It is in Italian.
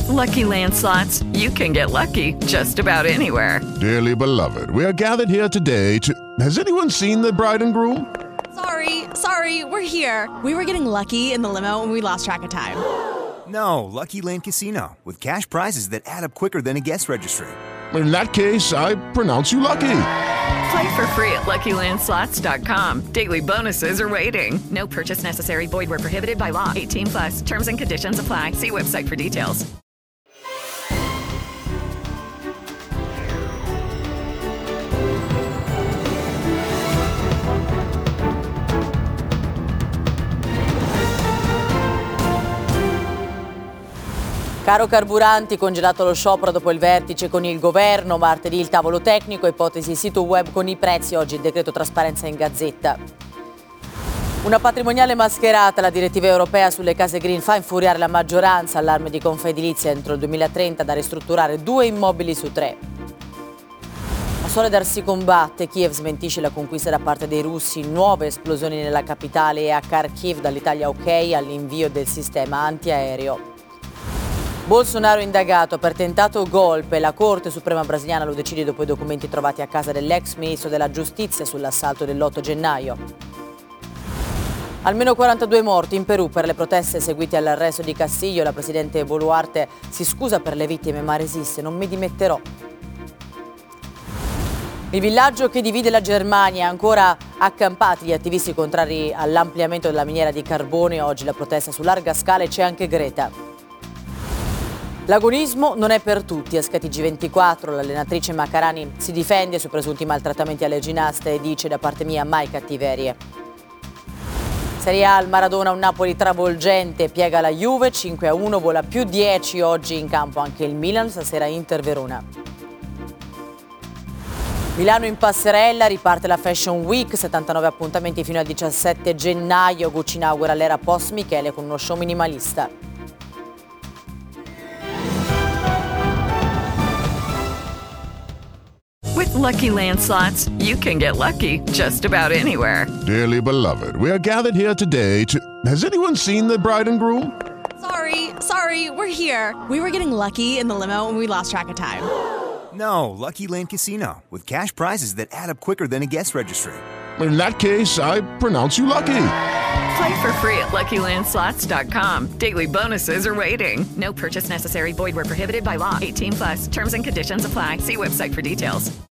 Lucky Land Slots, you can get lucky just about anywhere. Dearly beloved, we are gathered here today to... Has anyone seen the bride and groom? Sorry, we're here. We were getting lucky in the limo and we lost track of time. No, Lucky Land Casino, with cash prizes that add up quicker than a guest registry. In that case, I pronounce you lucky. Play for free at LuckyLandSlots.com. Daily bonuses are waiting. No purchase necessary. Void where prohibited by law. 18+. Terms and conditions apply. See website for details. Caro carburanti, congelato lo sciopero dopo il vertice con il governo, martedì il tavolo tecnico, ipotesi sito web con i prezzi, oggi il decreto trasparenza in Gazzetta. Una patrimoniale mascherata, la direttiva europea sulle case green fa infuriare la maggioranza, allarme di Confedilizia entro il 2030 da ristrutturare 2 immobili su 3. A Soledar si combatte, Kiev smentisce la conquista da parte dei russi, nuove esplosioni nella capitale e a Kharkiv dall'Italia ok all'invio del sistema antiaereo. Bolsonaro indagato per tentato golpe, la Corte Suprema brasiliana lo decide dopo i documenti trovati a casa dell'ex ministro della Giustizia sull'assalto dell'8 gennaio. Almeno 42 morti in Perù per le proteste seguite all'arresto di Castillo. La presidente Boluarte si scusa per le vittime ma resiste, non mi dimetterò. Il villaggio che divide la Germania, ancora accampati gli attivisti contrari all'ampliamento della miniera di carbone. Oggi la protesta su larga scala e c'è anche Greta. L'agonismo non è per tutti, a SkyTG24 l'allenatrice Macarani si difende su presunti maltrattamenti alle ginnaste e dice da parte mia mai cattiverie. Serie A al Maradona, un Napoli travolgente, piega la Juve, 5-1, vola più 10 oggi in campo anche il Milan, stasera Inter Verona. Milano in passerella, riparte la Fashion Week, 79 appuntamenti fino al 17 gennaio, Gucci inaugura l'era post Michele con uno show minimalista. With Lucky Land Slots, you can get lucky just about anywhere. Dearly beloved, we are gathered here today to... Has anyone seen the bride and groom? Sorry, we're here. We were getting lucky in the limo and we lost track of time. No, Lucky Land Casino, with cash prizes that add up quicker than a guest registry. In that case, I pronounce you lucky. Play for free at LuckyLandSlots.com. Daily bonuses are waiting. No purchase necessary. Void where prohibited by law. 18+. Terms and conditions apply. See website for details.